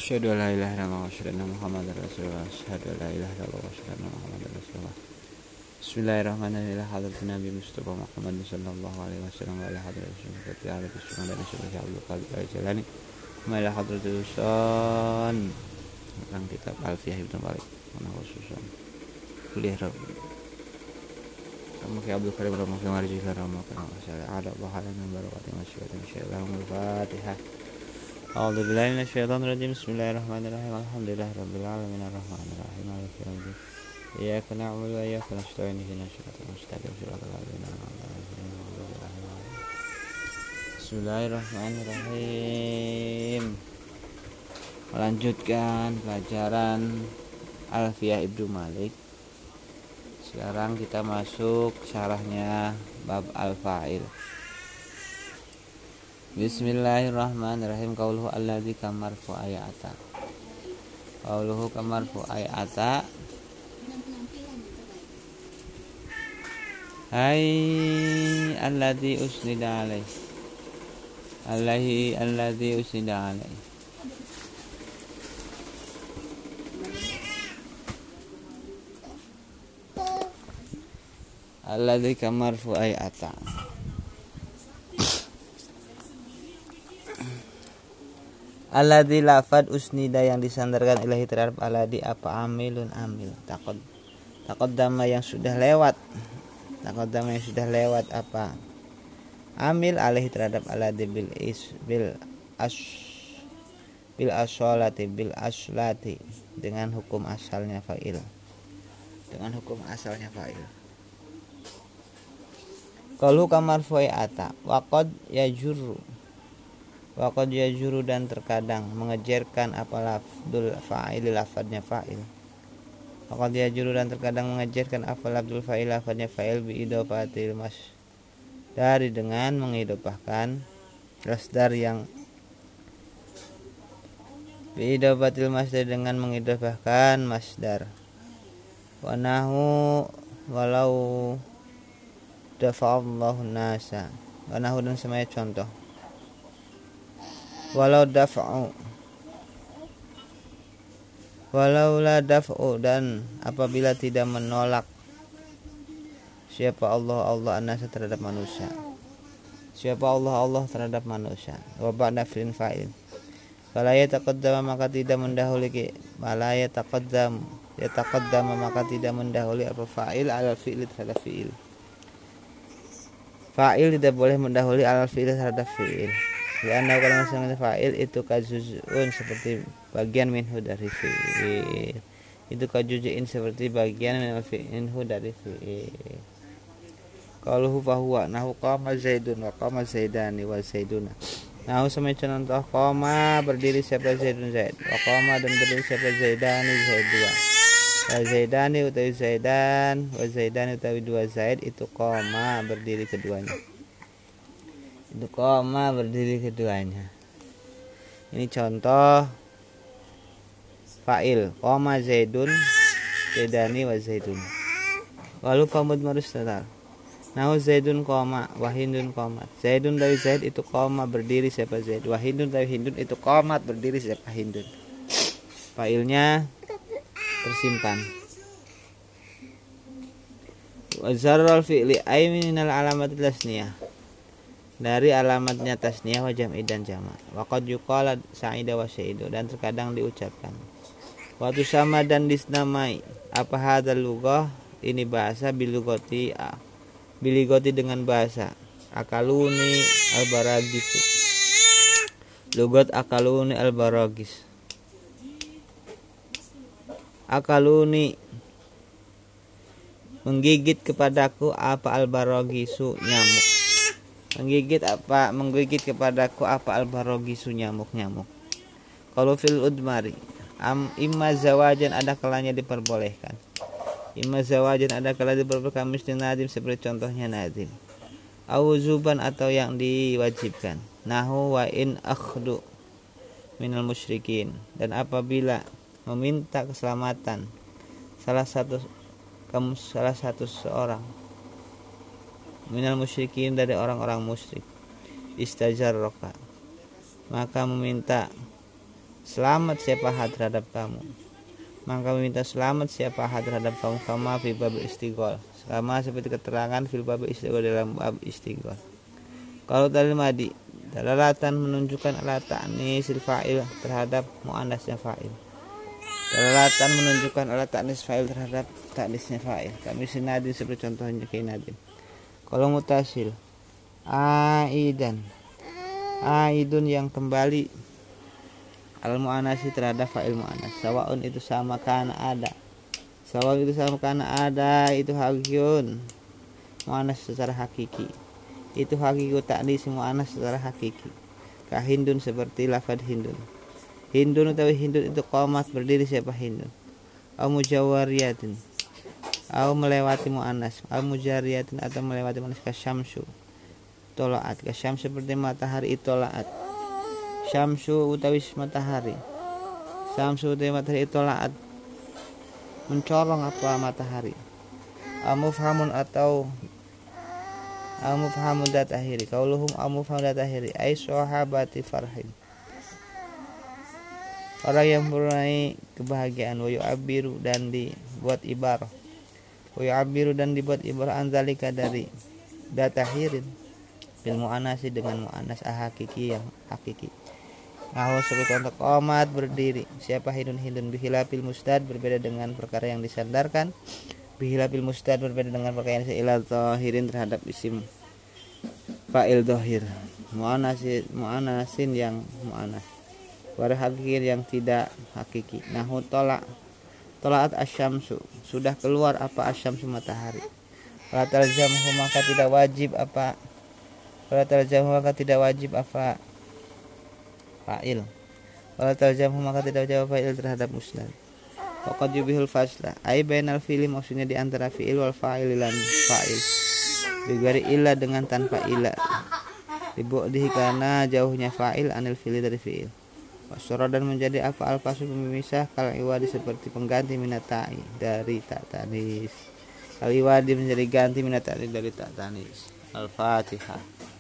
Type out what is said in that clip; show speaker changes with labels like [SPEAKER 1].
[SPEAKER 1] Asyhadu an la ilaha illallah wa asyhadu anna Muhammadar Rasulullah. Asyhadu an la ilaha illallah wa asyhadu anna Muhammadar Rasulullah. Bismillahirrahmanirrahim. Hadratin Nabi Mustafa Muhammad sallallahu alaihi wasallam wa ala hadratin Syekh Arif Sunan dan Syekh Abdul Qadir Al-Jalani. Wa ala hadratin Usan tentang kitab Alfiyah Ibnu Malik. Mana khususan kuliah Kamu ke Abdul Karim Rama ke Marji Rama ke ada bahala min barakati masyaallah insyaallah. Al-Fatihah. A'udzu billahi minasyaitonir rajim. Bismillahirrahmanirrahim. Alhamdulillahirabbil alamin arrahmanirrahim maliki yaumiddin. Iyyaka na'budu wa iyyaka nasta'in ihdinas siratal mustaqim siratal ladzina an'amta 'alaihim. Bismillahirrahmanirrahim. Melanjutkan pelajaran Alfiyah Ibnu Malik. Sekarang kita masuk syarahnya bab al-fa'il. Bismillahirrahmanirrahim. Qauluhu alladzi kamarfu ayata. Qauluhu kamarfu ayata. Hai alladzi usnida alaih. Alladzi usnida alaih. Alladzi kamarfu ayata. Alladzi lafad usnida yang disandarkan ilahi terhadap alladzi apa amilun amil. Taqaddama yang sudah lewat. Taqaddama yang sudah lewat apa amil alaihi terhadap alladzi bil aslati dengan hukum asalnya fa'il. Dengan hukum asalnya fa'il. Qalu kamarfu'i ata waqad yajuru dan terkadang mengejarkan apa lafdul fa'il lafadnya fa'il. Waqad yajuru dan terkadang mengejarkan apa lafdul fa'il lafadnya fa'il bi idofatil masdar dengan mengidofahkan masdar yang bi idofatil masdar dengan mengidofahkan masdar. Wa nahu walau dafa'allahu nasa. Wa nahu dan semaya contoh. Walau la daf'u dan apabila tidak menolak siapa Allah an-nasa terhadap manusia. Siapa Allah terhadap manusia. Wa ba'da fi'lin fa'il. Fala yataqaddama maka tidak mendahului maka tidak mendahului apa fa'il ala fi'il terhadap fi'il. Fa'il tidak boleh mendahului ala fi'il terhadap fi'il. Karena kalau misalnya fa'il itu kajuzun seperti bagian minhu dari fi'il. Itu kajuzuin seperti bagian minhu dari fi'il. Qaluhu fahuwa nahu qama zaidun wa qama zaidani wa zaiduna. Nahu sama contoh qama berdiri siapa zaidun zaid. Wa qama dan berdiri siapa zaidani zaid dua. Wa zaidani utawi zaidan wa zaidani utawi dua zaid itu qama berdiri keduanya. Itu koma berdiri keduanya. Ini contoh fa'il koma zaidun zaidani wa zaidun. Lalu famud mustatar. Nahu zaidun koma wa hindun koma. Zaidun dari zaid itu koma berdiri siapa zaid. Wa hindun dari hindun itu komat berdiri siapa hindun. Fa'ilnya tersimpan. Wa zarral fi'li ay minal alamatil tasniyah. Dari alamatnya tasniyah wa jam'i dan jama'. Waqad yuqala sa'ida wa sa'idu dan terkadang diucapkan. Wa tusama dan disnamai apa hadzal lughah ini bahasa bilugoti dengan bahasa akaluni albaragisu. Lugat akaluni albaragis. Akaluni menggigit kepadaku apa albaragisu nyamuk. Menggigit kepadaku apa albarogisu nyamuk-nyamuk. Kalau fil udmari imma zawajan ada kalanya diperbolehkan. Imma zawajan ada kalanya diperbolehkan misli nadim seperti contohnya nadim. Auzuban atau yang diwajibkan. Nahu wa in akhdu minal musyrikin dan apabila meminta keselamatan salah satu seorang minal musyrikin dari orang-orang musyrik istajarroka maka meminta selamat siapa terhadap kamu, maka meminta selamat siapa terhadap kamu. Kama fi bab istighol, sama seperti keterangan fil bab istighol, dalam bab istighol. Kalau dalil madi, dalalatan menunjukkan ala ta'nisil fa'il terhadap muannasnya fa'il. Dalalatan menunjukkan ala ta'nis fa'il terhadap ta'nisnya fa'il. Kami sinadin seperti contohnya kainadin. Kalau mutasil, aidan, aidun yang kembali, al muannasi terhadap fa'il muannas. Sawaun itu sama kana ada. Sawaun itu sama kana ada, itu hakikun muannas secara hakiki. Itu hakiki ta'nis muannas secara hakiki. Ka hindun seperti lafaz hindun. Hindun utawi hindun itu qomat berdiri siapa hindun. Au mujawariyatin, au melewati muannas. Au mujariyatin atau melewati muannas. Ka syamsu tolaat, ka syamsu seperti matahari itolaat. Syamsu utawi matahari. Syamsu utawi matahari itolaat, mencorong apa matahari. Au mufhamun atau mufhamun datahiri, kauluhum mufhamun datahiri ay sahabati farhin, orang yang mempunyai kebahagiaan. Wa yu'abbiru dan dibuat ibarah, wa yu'abbiru dan dibuat ibarah anzalika dari datahirin bil muannasi dengan muannas hakiki yang hakiki. Nahu seperti untuk qomat berdiri siapa hindun bihilafil mustad berbeda dengan perkara yang disandarkan. Bihilafil mustad berbeda dengan pakaian ilal zahirin terhadap isim fa'il zahir. Mu'anasin yang mu'anas. War hakikin yang tidak hakiki. Nahu tolaat asyamsu, sudah keluar apa asyamsu matahari. Wala talzamhu maka tidak wajib apa. Wala talzamhu maka tidak wajib apa fa'il. Wala talzamhu maka tidak wajib fa'il terhadap musnad. Faqad yubihul fasla ai bainal fi'li, maksudnya di antara fi'il wal fa'il lan fa'il. Bigari illa dengan tanpa illa. Dibu'dihi karena jauhnya fa'il anil fi'li dari fi'il. Wasara dan menjadi apa al-fasu pemisah kal iwadi seperti pengganti minatai dari tak tanis. Al iwadi menjadi ganti minatai dari tak tanis. Al-Fatihah.